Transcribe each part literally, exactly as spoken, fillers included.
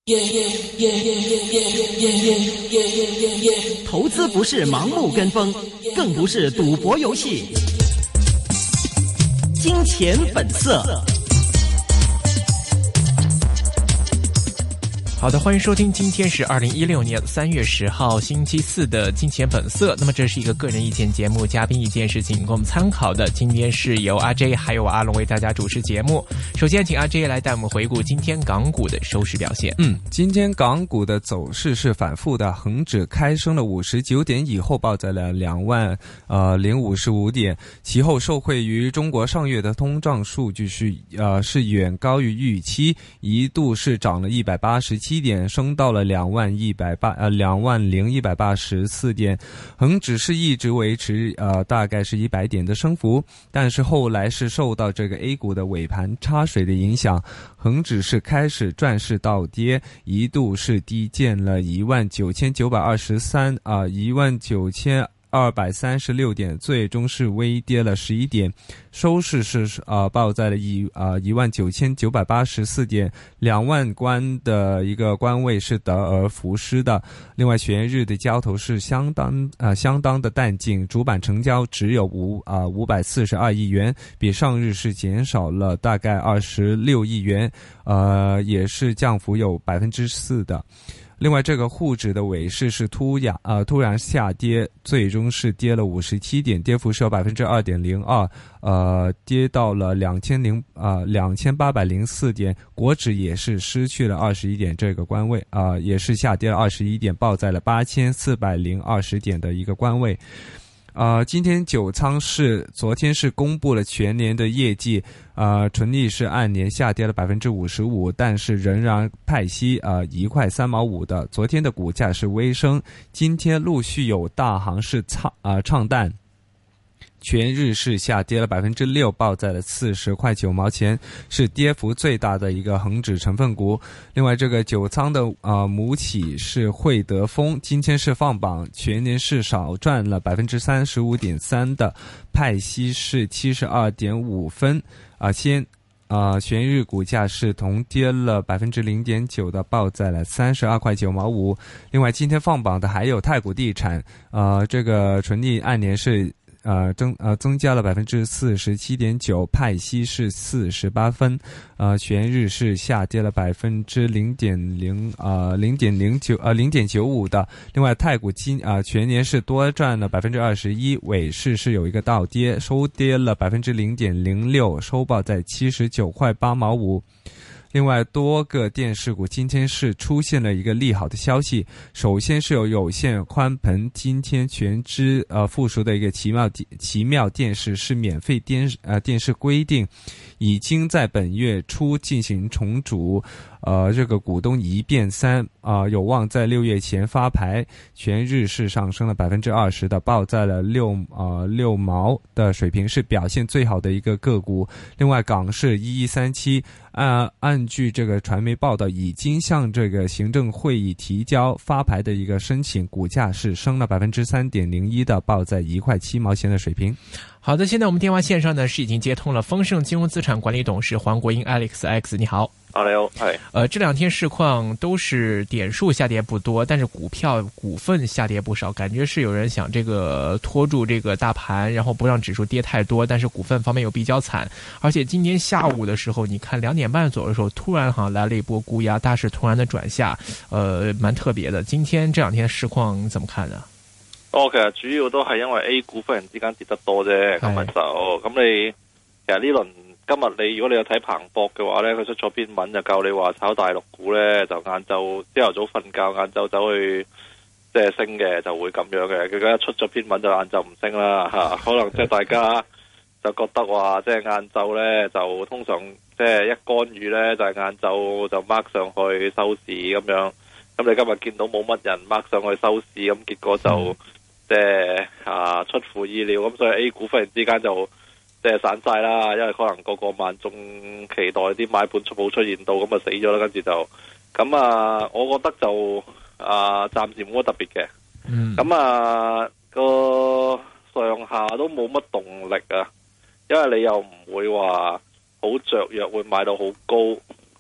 投资不是盲目跟风，更不是赌博游戏。金钱本色。 好的，欢迎收听，今天是二零一六年三月十号星期四的金钱本色。那么这是一个个人意见节目，嘉宾意见是仅供我们参考的。今天是由阿 J 还有阿龙为大家主持节目。首先请阿 J 来带我们回顾今天港股的收市表现。 嗯，今天港股的走势是反复的，恒指开升了五十九点以后报在了两万呃零五十五点，其后受惠于中国上月的通胀数据是呃是远高于预期，一度是涨了一百八十七点，升到了两万一百八呃两万零一百八十四点，恒指是一直维持呃大概是一百点的升幅，但是后来是受到这个 A 股的尾盘插水的影响，恒指是开始转势倒跌，一度是低见了一万九千九百二十三啊一万九千二百三十六点，最终是微跌了十一点，收市是呃报在了一啊一万九千九百八十四点，两万关的一个关位是得而复失的。另外，全日的交投是相当啊、呃、相当的淡静，主板成交只有五啊五百四十二亿元，比上日是减少了大概二十六亿元，呃也是降幅有百分之四的。另外，这个沪指的尾市是突然呃突然下跌，最终是跌了五十七点，跌幅是有百分之二点零二，呃，跌到了两千零啊两千八百零四点。国指也是失去了二十一点这个关位啊、呃，也是下跌了二十一点，报在了八千四百零二十点的一个关位。呃，今天九仓是昨天是公布了全年的业绩，呃，纯利是按年下跌了百分之五十五，但是仍然派息呃一块三毛五的。昨天的股价是微升，今天陆续有大行是唱啊、呃、唱淡。全日是下跌了百分之六，报在了四十块九毛钱，是跌幅最大的一个恒指成分股。另外，这个九仓的呃母企是汇德丰，今天是放榜，全年是少赚了百分之三十五点三的，派息是七十二点五分啊、呃，先。呃，全日股价是同跌了百分之零点九的，报在了三十二块九毛五。另外，今天放榜的还有太古地产，呃，这个纯利按年是。呃增呃增加了百分之四十七点九，派息是四十八分，呃全日是下跌了百分之零点零呃零点零九呃零点九五的。另外，太古今啊、呃、全年是多赚了百分之二十一，尾市是有一个倒跌，收跌了百分之零点零六，收报在七十九块八毛五。另外，多个电视股今天是出现了一个利好的消息。首先是有有线宽频今天全资呃附属的一个奇妙奇妙电视是免费电呃电视规定，已经在本月初进行重组。呃，这个股东一变三啊、呃，有望在六月前发牌。全日是上升了百分之二十的，报在了六呃六毛的水平，是表现最好的一个个股。另外，港市一一三七按按据这个传媒报道，已经向这个行政会议提交发牌的一个申请，股价是升了百分之三点零一的，报在一块七毛钱的水平。 好的，现在我们电话线上呢是已经接通了丰盛金融资产管理董事黄国英 Alex X， 你好。 啊，你好，係。 呃，这两天市况都是点数下跌不多，但是股票股份下跌不少，感觉是有人想这个拖住这个大盘，然后不让指数跌太多，但是股份方面又比较惨。而且今天下午的时候，你看两点半左右的时候，突然好像来了一波沽压，大市突然的转下，呃，蛮特别的。今天这两天市况怎么看呢？ 哦，其實主要都係因為 A 股忽然之間跌得多啫，咁咪就咁你其實呢輪今日你如果你有睇彭博嘅話咧，佢出咗篇文就教你話炒大陸股咧，就晏晝朝頭早瞓覺，晏晝走去即係升嘅就會咁樣嘅。佢而家出咗篇文就晏晝唔升啦嚇，可能即係大家就覺得話即係晏晝咧就通常即係一干預咧就係晏晝就 mark 上去收市咁樣。咁你今日見到冇乜人 mark 上去收市，咁結果就。嗯即係啊出乎意料，咁所以 A 股忽然之間就即係散晒啦，因為可能個個萬眾期待啲買盤冇出現到，咁啊死咗啦，跟住就咁啊，我覺得就啊暫時冇乜特別嘅，咁、嗯、啊個上下都冇乜動力啊，因為你又唔會話好雀躍會買到好高，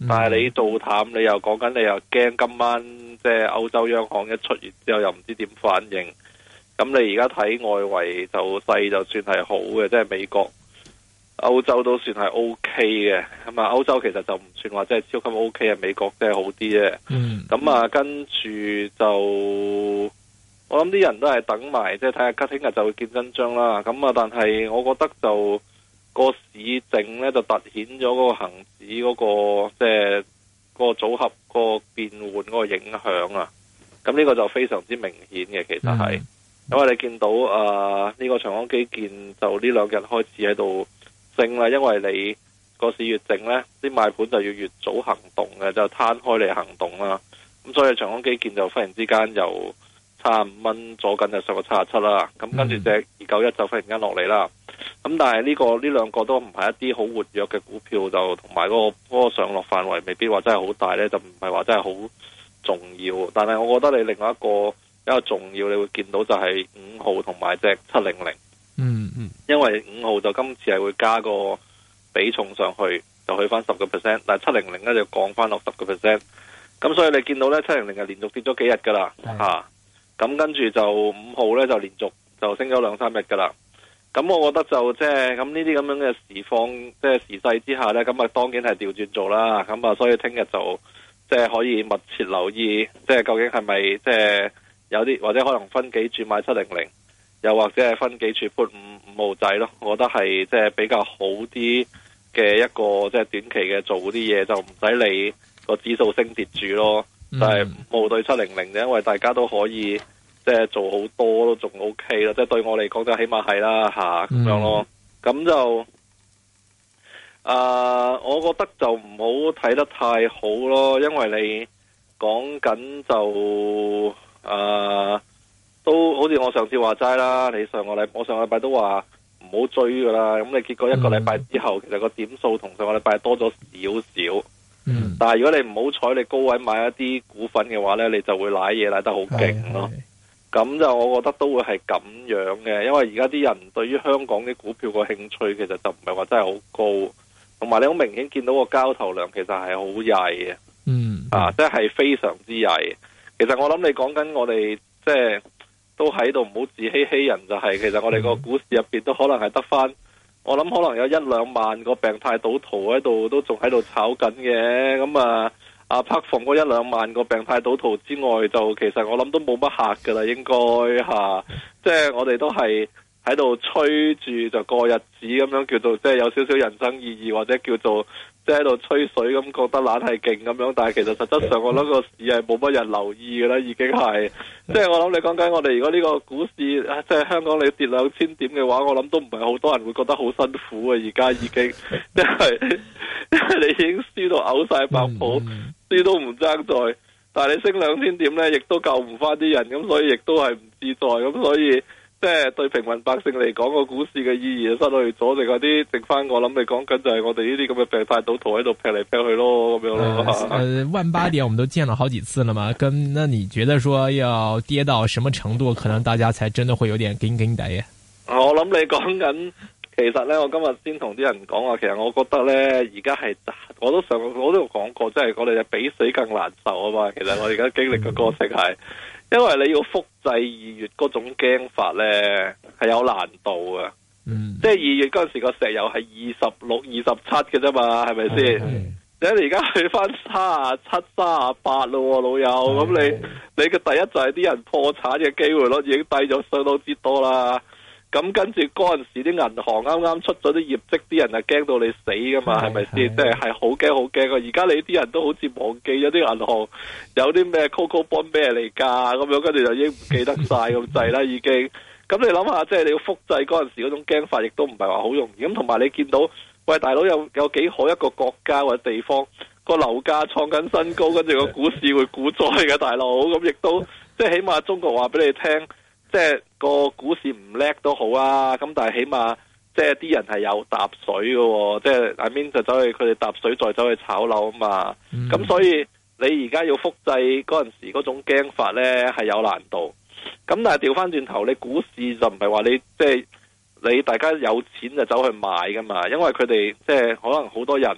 但係你做淡，你又講緊你又驚今晚即係歐洲央行一出完之後又唔知點反應。咁你而家睇外圍就勢就算係好嘅，即係美國、歐洲都算係 O K 嘅。咁啊，歐洲其實就唔算話即係超級 O K 啊，美國即係好啲啫。 嗯。 咁啊，跟住就。我諗啲人都係等埋，即係睇下聽日就會見真章啦。咁啊，但係我覺得就個市淨咧就凸顯咗嗰個恒指嗰個即係嗰個組合嗰個變換嗰個影響啊。咁呢個就非常之明顯嘅，其實係，嗯、因為你見到啊呢、呢個長江基建就呢兩日開始喺度升啦，因為你個市越靜咧，啲買盤就要越早行動嘅，就攤開嚟行動啦。咁所以長江基建就忽然之間又差五蚊左近就上個七十七啦，咁跟住隻二九一就忽然間落嚟啦。咁但係呢、呢個呢兩個都唔係一啲好活躍嘅股票，就同埋嗰個嗰個上落範圍未必話真係好大呢，就唔係話真係好重要。但係我覺得你另外一個比較重要，你會見到就係五號同埋隻七零零。 嗯嗯， 因為五號就今次係會加個比重上去，就去翻十個 percent， 但係七零零呢就降翻落十個 percent。咁所以你見到呢，七零零係連續跌咗幾日噶啦嚇。咁跟住就五號咧就連續就升咗兩三日噶啦。咁我覺得就即係咁呢啲咁樣嘅時況，即係時勢之下咧，咁啊當然係調轉做啦。咁啊，所以聽日就即係可以密切留意，即係究竟係咪即係有啲或者可能分幾注買七零零，又或者係分幾注 put 五五號仔咯。我覺得係即係比較好啲嘅一個即係短期嘅做啲嘢，就唔使理個指數升跌住咯。就係五號對七零零嘅，因為大家都可以即係做好多都仲 O K 啦，即係對我嚟講就起碼係啦吓咁樣咯。咁就啊、呃，我覺得就唔好睇得太好咯，因為你講緊就啊、呃，都好似我上次話齋啦，你上個禮我上個禮拜都話唔好追噶啦，咁你結果一個禮拜之後，嗯、其實個點數同上個禮拜多咗少少。嗯，但係如果你唔好彩，你高位買一啲股份嘅話呢，你就會瀨嘢瀨得好勁咯。咁就我覺得都會係咁樣嘅，因為而家啲人對於香港啲股票個興趣其實就唔係話真係好高，同埋你好明顯見到個交投量其實係好曳嘅。嗯，啊，即係非常之曳。其實我諗你講緊我哋即係都喺度唔好自欺欺人，就係、是、其實我哋個股市入邊都可能係得翻。我諗可能有一兩萬個病態賭徒喺度，都仲喺度炒緊嘅。咁啊，啊拍放嗰一兩萬個病態賭徒之外，就其實我諗都冇乜客噶啦，應該吓。即係我哋都係喺度吹住就過日子咁樣，叫做即係有少少人生意義，或者叫做即係喺度吹水咁，覺得懶係勁咁樣。但係其實實質上我諗個市係冇乜人留意噶啦，已經係。即係我諗你講緊我哋如果呢個股市即係香港你跌兩千點嘅話，我諗都唔係好多人會覺得好辛苦啊！而家已經即係因為你已經輸到嘔晒白泡，輸都唔爭在，但係你升兩千點呢，亦都救唔翻啲人，咁所以亦都係唔自在，咁所以即係對平民百姓嚟講，個股市嘅意義就失去咗，剩嗰啲剩翻我諗你講緊就係我哋呢啲咁嘅病態賭徒喺度劈嚟劈去咯，咁樣咯。 呃，萬八點我們都見了好幾次了嘛，跟那你覺得說要跌到什麼程度，可能大家才真的會有點驚驚地啊？ 我諗你講緊，其實呢，我今日先同啲人講話，其實我覺得呢，而家係我都上我都講過，即係我哋比死更難受啊嘛。其實我而家經歷嘅過程係。因為你要複製二月嗰種驚法呢，係有難度嘅。嗯，即係二月嗰陣時個石油係二十六、二十七嘅啫嘛，係咪先？你而家去翻三十七、三十八咯，老友。咁你你嘅第一就係啲人破產嘅機會率已經低咗相當之多啦。咁跟住嗰陣時啲銀行啱啱出咗啲業績，啲人係驚到你死噶嘛，係咪先？即係係好驚好驚啊！而家你啲人都好似忘記咗啲銀行有啲咩 Coco Bond 咩嚟㗎咁樣，跟住就已經唔記得晒咁滯啦，已經。咁你諗下，即係你要複製嗰陣時嗰種驚法，亦都唔係話好容易。咁同埋你見到，喂大佬有有幾好一個國家或者地方個樓價創緊新高，跟住個股市會股災嘅大佬，咁亦都即係起碼中國話俾你聽。即係個股市唔叻都好啊，咁但係起碼即係啲人係有搭水嘅，即係 I mean 就走去佢哋搭水再走去炒樓啊嘛。咁、嗯、所以你而家要複製嗰陣時嗰種驚法呢係有難度。咁但係調翻轉頭，你股市就唔係話你即係你大家有錢就走去買噶嘛，因為佢哋即係可能好多人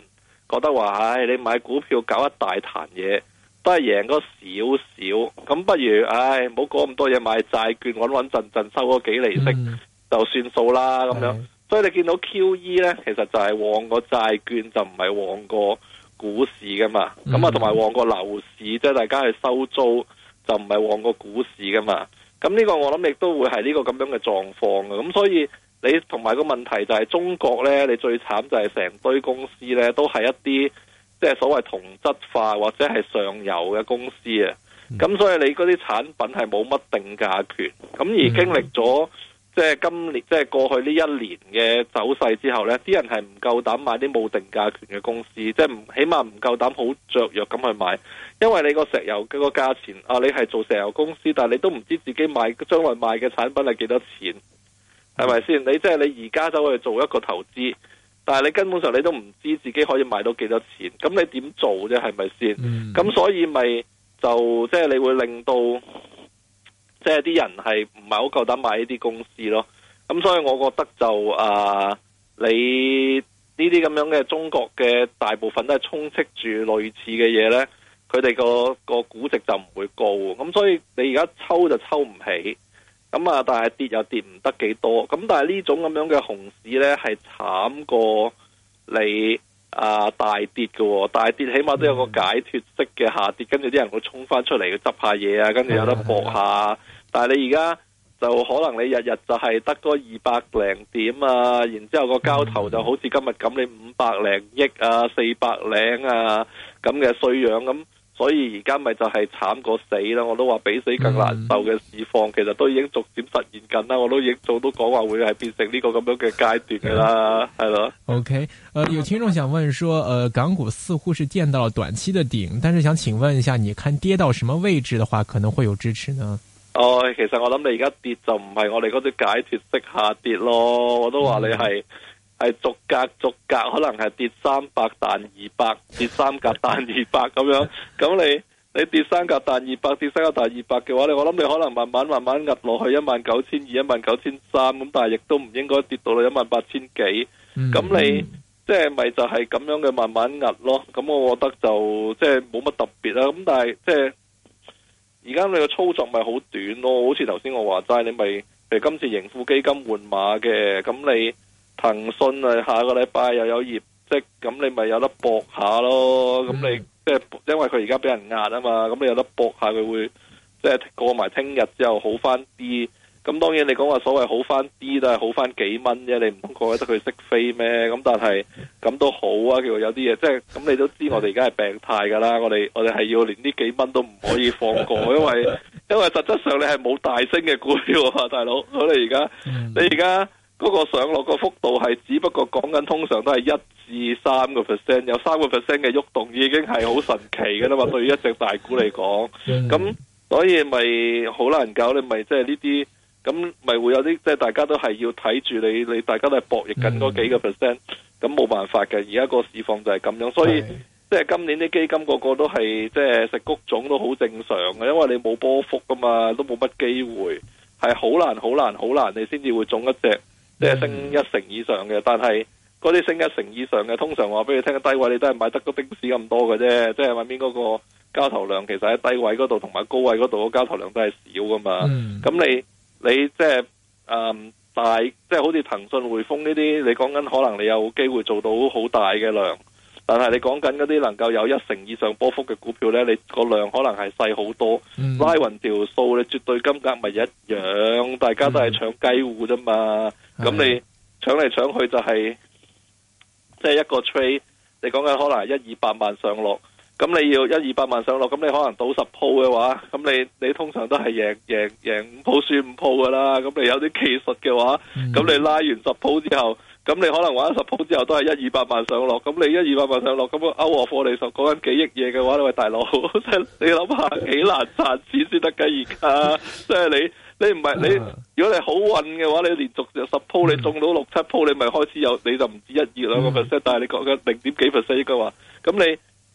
覺得話，唉，你買股票搞一大壇嘢，都係贏嗰少少，咁不如，唉，唔好講咁多嘢，買債券穩穩陣陣收嗰幾厘息、嗯、就算數啦咁樣。所以你見到 Q E 呢，其實就係旺個債券，就唔係旺個股市噶嘛。咁啊、嗯，同埋旺個樓市，即係大家去收租，就唔係旺個股市噶嘛。咁呢個我諗亦都會係呢個咁樣嘅狀況嘅。咁所以你同埋個問題就係中國呢，你最慘就係成堆公司呢，都係一啲即係所謂同質化或者係上游嘅公司啊。咁、嗯、所以你嗰啲產品係冇乜定價權。咁而經歷咗。即係今年，即係過去呢一年嘅走勢之後呢，啲人係唔夠膽買啲冇定價權嘅公司，即係唔起碼唔夠膽好雀躍咁去買，因為你個石油嘅個價錢啊，你係做石油公司，但係你都唔知自己買將來賣嘅產品係幾多錢，係咪先？你即係你而家走去做一個投資，但係你根本上你都唔知自己可以買到幾多錢，咁你點做啫？係咪先？咁、嗯、所以咪就即係你會令到。即係啲人係唔係好夠膽買呢啲公司咯，咁所以我覺得就啊、呃，你呢啲咁樣嘅中國嘅大部分都係充斥住類似嘅嘢呢，佢哋個個估值就唔會高，咁所以你而家抽就抽唔起，咁啊但係跌又跌唔得幾多，咁但係呢種咁樣嘅熊市呢，係慘過你啊、呃、大跌嘅，大跌起碼都有個解脫式嘅下跌，跟住啲人會衝翻出嚟去執下嘢啊，跟住有得搏下。但係你而家就可能你日日就係得嗰二百零點啊，然之後個交投就好似今日咁，你五百零億啊、四百零啊咁嘅衰樣咁，所以而家咪就係慘過死啦！我都話比死更難受嘅市況，其實都已經逐漸實現緊啦。我都已經早都講話會係變成呢個咁樣嘅階段噶啦，係咯。 OK，呃，有聽眾想問說，呃，港股似乎是見到了短期的頂，但是想請問一下，你看跌到什麼位置的話，可能會有支持呢？ 哦，其實我諗你而家跌就唔係我哋嗰啲解脫式下跌咯，我都話你係係、嗯、逐格逐格，可能係跌三百彈二百，跌三格彈二百咁樣。咁你你跌三格彈二百，跌三格彈二百嘅話，你我諗你可能慢慢慢慢壓落去一萬九千二、一萬九千三咁，但係亦都唔應該跌到去一萬八千幾。咁、嗯、你即係咪就係咁樣嘅慢慢壓咯？咁我覺得就即係冇乜特別啦。咁但係即係。而家你個操作咪好短咯，好似頭先我話齋，你咪譬如今次盈富基金換馬嘅，咁你騰訊啊下個禮拜又有業績，咁你咪有得搏下咯。咁、嗯、你即係因為佢而家俾人壓啊嘛，咁你有得搏下佢會即係過埋聽日之後好翻啲。咁當然你講話所謂好翻啲都係好翻幾蚊啫，你唔通覺得佢識飛咩？咁但係咁都好啊，叫有啲嘢即係咁，你都知我哋而家係病態噶啦，我哋我哋係要連呢幾蚊都唔可以放過，因為因為實質上你係冇大升嘅股票啊，大佬，我哋而家你而家嗰個上落個幅度係只不過講緊通常都係一至三個 percent， 有三個 percent 嘅喐動已經係好神奇噶啦嘛，對於一隻大股嚟講，咁所以咪好難搞，你咪即係呢啲。咁咪會有啲即係大家都係要睇住你，你大家都係博弈緊嗰幾個 percent，咁冇辦法嘅。而家個市況就係咁樣，所以即係今年啲基金個個都係即係食谷種都好正常嘅，因為你冇波幅噶嘛，都冇乜機會，係好難好難好難，你先至會中一隻即係升一成以上嘅。但係嗰啲升一成以上嘅，通常話俾你聽，低位你都係買得個丁士咁多嘅啫，即係外面嗰個交投量其實喺低位嗰度同埋高位嗰度個交投量都係少噶嘛，咁、嗯、你。你即係誒大，即係好似騰訊、匯豐呢啲，你講緊可能你有機會做到好大嘅量，但係你講緊嗰啲能夠有一成以上波幅嘅股票呢，你個量可能係細好多，嗯、拉勻條數，你絕對金額咪一樣，大家都係搶雞戶啫嘛，咁、嗯、你搶嚟搶去就係即係一個 trade，你講緊可能係一二百萬上落。咁你要一二百萬上落，咁你可能賭十鋪嘅話，咁你你通常都係贏贏贏五鋪輸五鋪噶啦。咁你有啲技術嘅話，咁、嗯、你拉完十鋪之後，咁你可能玩十鋪之後都係一二百萬上落。咁你一二百萬上落，咁歐和貨你就講緊幾億嘢嘅話，你喂大佬，即係你諗下幾難賺錢先得㗎而家。即係你你唔係你，如果你好運嘅話，你連續十鋪你中到六七鋪，你咪開始有，你就唔止一二兩個 percent，但係你講緊零點幾 percent 應該話，咁你。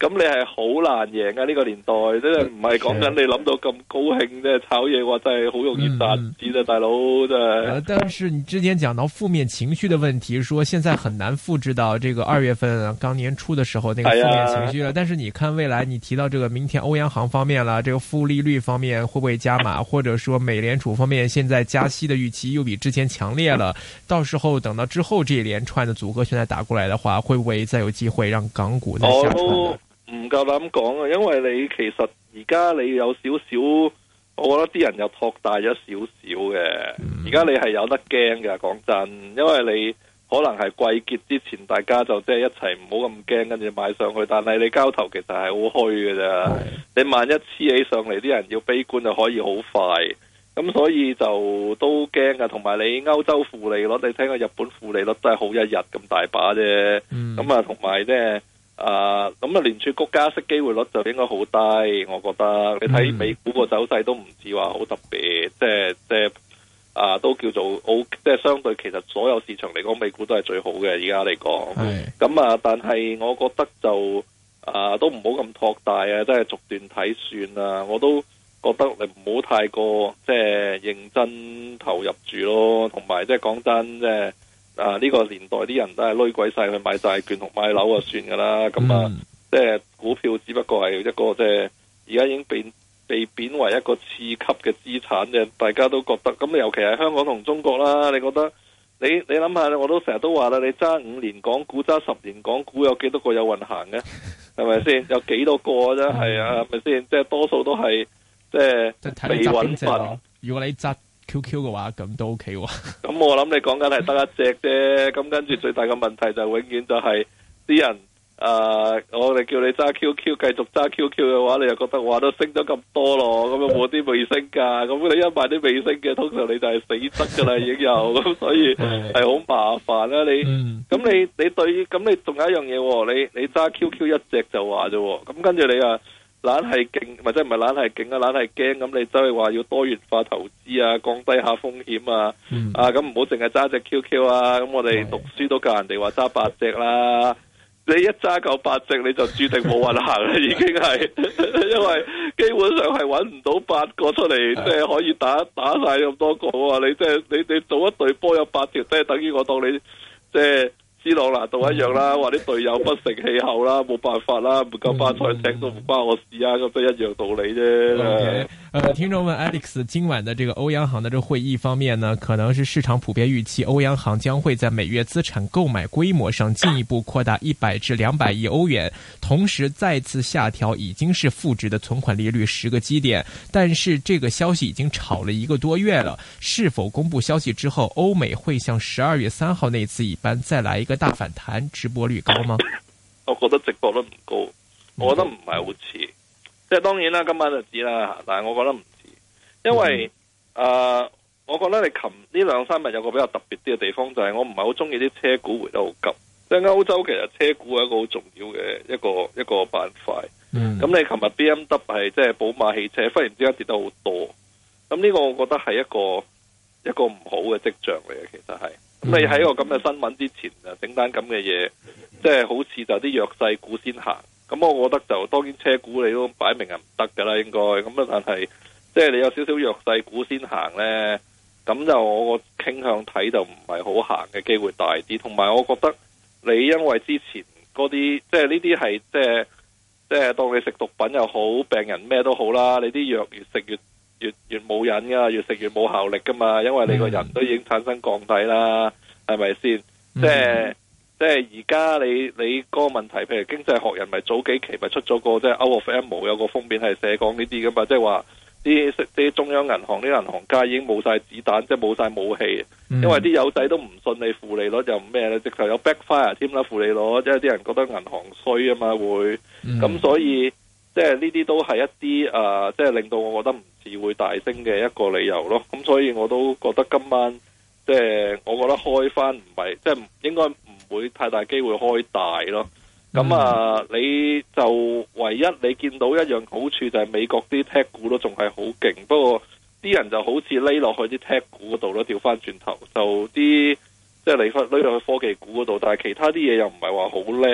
咁你係好難贏啊！呢、這個年代真係唔係講緊你諗到咁高興，即係炒嘢話真係好容易賺錢啊，大佬真係、 呃。但是你之前講到負面情緒的問題，說現在很難複製到這個二月份剛年初的時候那個負面情緒了。啊、但是你看未來，你提到這個明天歐央行方面啦，這個負利率方面會不會加碼，或者說美聯儲方面現在加息的預期又比之前強烈了？到時候等到之後這一連串的組合拳再打過來的話，會不會再有機會讓港股再下穿呢？ 唔夠膽講啊，因為你其實而家你有少少，我覺得啲人又托大咗少少嘅。而家、嗯、你係有得驚嘅，講真，因為你可能係季結之前，大家就即係一齊唔好咁驚，跟住買上去。但係你交投其實係好虛嘅啫。是你萬一黐起上嚟，啲人要悲觀就可以好快。咁所以就都驚噶。同埋你歐洲負利率，你聽過日本負利率都係好一日咁大把啫。咁啊，同埋即係。啊，咁啊，聯儲局加息機會率就應該好低，我覺得。你睇美股個走勢都唔似話好特別，即係即係啊，都叫做好，即係相對其實所有市場嚟講，美股都係最好嘅，而家嚟講。咁啊，但係我覺得就啊，都唔好咁托大啊，即係逐段睇算啊。我都覺得你唔好太過即係認真投入住咯，同埋即係講真即係。啊！呢、這個年代啲人都係攞鬼晒去買債券同買樓啊，算噶啦。咁、嗯、啊，即係股票只不過係一個即係而家已經被被貶為一個次級嘅資產嘅，大家都覺得。咁尤其係香港同中國啦，你覺得你你諗下，我都成日都話啦，你揸五年港股揸十年港股有幾多個有運行嘅？係咪先？有幾多個啫？係啊，係咪先？即係多數都係即係未穩陣。 如果你揸 Q Q 嘅話，咁都 OK 喎。 咁我諗你講緊係得一隻啫。咁跟住最大嘅問題就永遠就係啲人，誒、呃，我哋叫你揸 Q Q， 繼續揸 Q Q 嘅話，你又覺得哇都升咗咁多咯，咁又冇啲未升噶。咁你一買啲未升嘅，通常你就係死得噶啦，已經有。咁所以係好麻煩啦。你咁、嗯、你你對咁你仲有一樣嘢，你你揸 Q Q 一隻就話啫。咁跟住你啊。懶係勁，或者唔係懶係勁啊，懶係驚咁，你走去話要多元化投資啊，降低下風險啊，嗯、啊咁唔好淨係揸隻 Q Q 啊，咁我哋讀書都教人哋話揸八隻啦，你一揸夠八隻你就注定冇運行啦，已經係，因為基本上係揾唔到八個出嚟，即係可以打打晒咁多個啊，你即係你你做一隊波有八條，即係等於我當你即係。斯朗拿度一樣啦，話啲隊友不成氣候啦，冇辦法啦，唔夠巴塞踢都唔關我事啊，咁都一樣道理啫。 Okay. 呃，聽眾問 Alex， 今晚的這個歐央行的這個會議方面呢，可能是市場普遍預期歐央行將會在每月資產購買規模上進一步擴大一百至兩百億歐元，同時再次下調已經是負值的存款利率十個基點。但是這個消息已經炒了一個多月了，是否公布消息之後，歐美會像十二月三號那次一般再來一個大反彈？直播率高嗎？ 我覺得直播率唔高，我覺得唔係好似，即係當然啦，今晚就知啦。但係我覺得唔似，因為誒、嗯呃，我覺得你琴呢兩三日有個比較特別啲嘅地方，就係、是、我唔係好中意啲車股回得好急。即係歐洲其實車股係一個好重要嘅一個一個板塊。咁、嗯、你琴日 B M W 係即係寶馬汽車忽然之間跌得好多，咁呢個我覺得係一個一個唔好嘅跡象嚟嘅，其實係。咁、嗯、你喺個咁嘅新聞之前啊，整單咁嘅嘢，即係好似就啲弱勢股先行。咁我覺得就當然車股你都擺明係唔得噶啦，應該咁啊。但係即係你有少少弱勢股先行呢，咁就我個傾向睇就唔係好行嘅機會大啲。同埋我覺得你因為之前嗰啲即係呢啲係即係即係當你食毒品又好，病人咩都好啦，你啲藥越食越越越冇癮噶，越食越冇效力噶嘛，因為你個人都已經產生降體啦，係咪先？即係即係而家你你嗰個問題，譬如經濟學人咪早幾期咪出咗個即係 Out of Ammo 有個封面係寫講呢啲噶嘛，即係話啲啲中央銀行啲銀行家已經冇晒子彈，即係冇晒武器，因為啲友仔都唔信你負利率又咩咧，直頭有 backfire 添啦負利率，因為啲人覺得銀行衰啊嘛會，咁、嗯、所以即係呢啲都係一啲誒、呃，即係令到我覺得唔似會大升嘅一個理由咯。咁所以我都覺得今晚即係我覺得開翻唔係即係應該唔會太大機會開大咯。咁、嗯、啊，你就唯一你見到一樣好處就係美國啲 tech 股都仲係好勁，不過啲人就好似匿落去啲 tech 股嗰度咯，調翻轉頭就啲即係嚟翻匿落去科技股嗰度，但係其他啲嘢又唔係話好叻咯。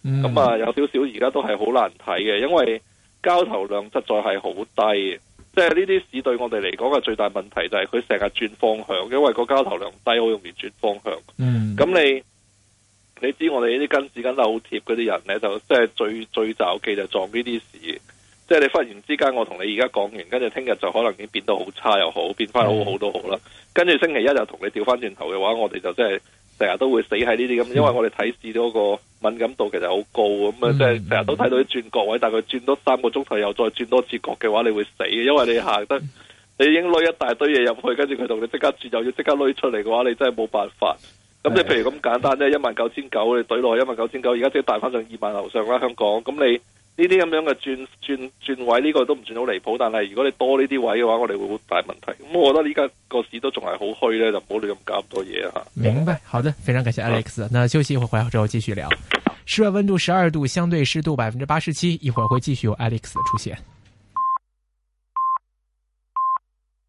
咁啊、嗯、有少少而家都係好難睇嘅，因為交投量實在係好低。即係呢啲市對我哋嚟講嘅最大問題就係佢成日轉方向，因為個交投量低，好容易轉方向。嗯，咁你你知我哋呢啲跟市跟得好貼嗰啲人呢，就即係最最罩忌就撞呢啲市。即係你忽然之間，我同你而家講完，跟住聽日就可能已經變到好差又好，變翻好好都好啦。跟住星期一就同你調翻轉頭嘅話，我哋就即係成日都會死喺呢啲咁，因為我哋睇市嗰個敏感度其實好高咁啊，即係成日都睇到啲轉角位，但係佢轉多三個鐘頭又再轉多次角嘅話，你會死嘅，因為你行得你已經攞一大堆嘢入去，跟住佢同你即刻轉又要即刻攞出嚟嘅話，你真係冇辦法。咁你譬如咁簡單啫，一萬九千九你懟落去一萬九千九，而家即係帶翻上二萬樓上啦，香港。咁你呢啲咁樣嘅轉轉轉位，呢個都唔算好離譜，但係如果你多呢啲位嘅話，我哋會好大問題。咁我覺得依家個市都仲係好虛咧，就唔好亂咁搞咁多嘢吓。 明白，好的，非常感謝 Alex。那休息一會，回來之後繼續聊。室外溫度十二度，相對濕度百分之八十七，一會兒會繼續有 Alex 的出現。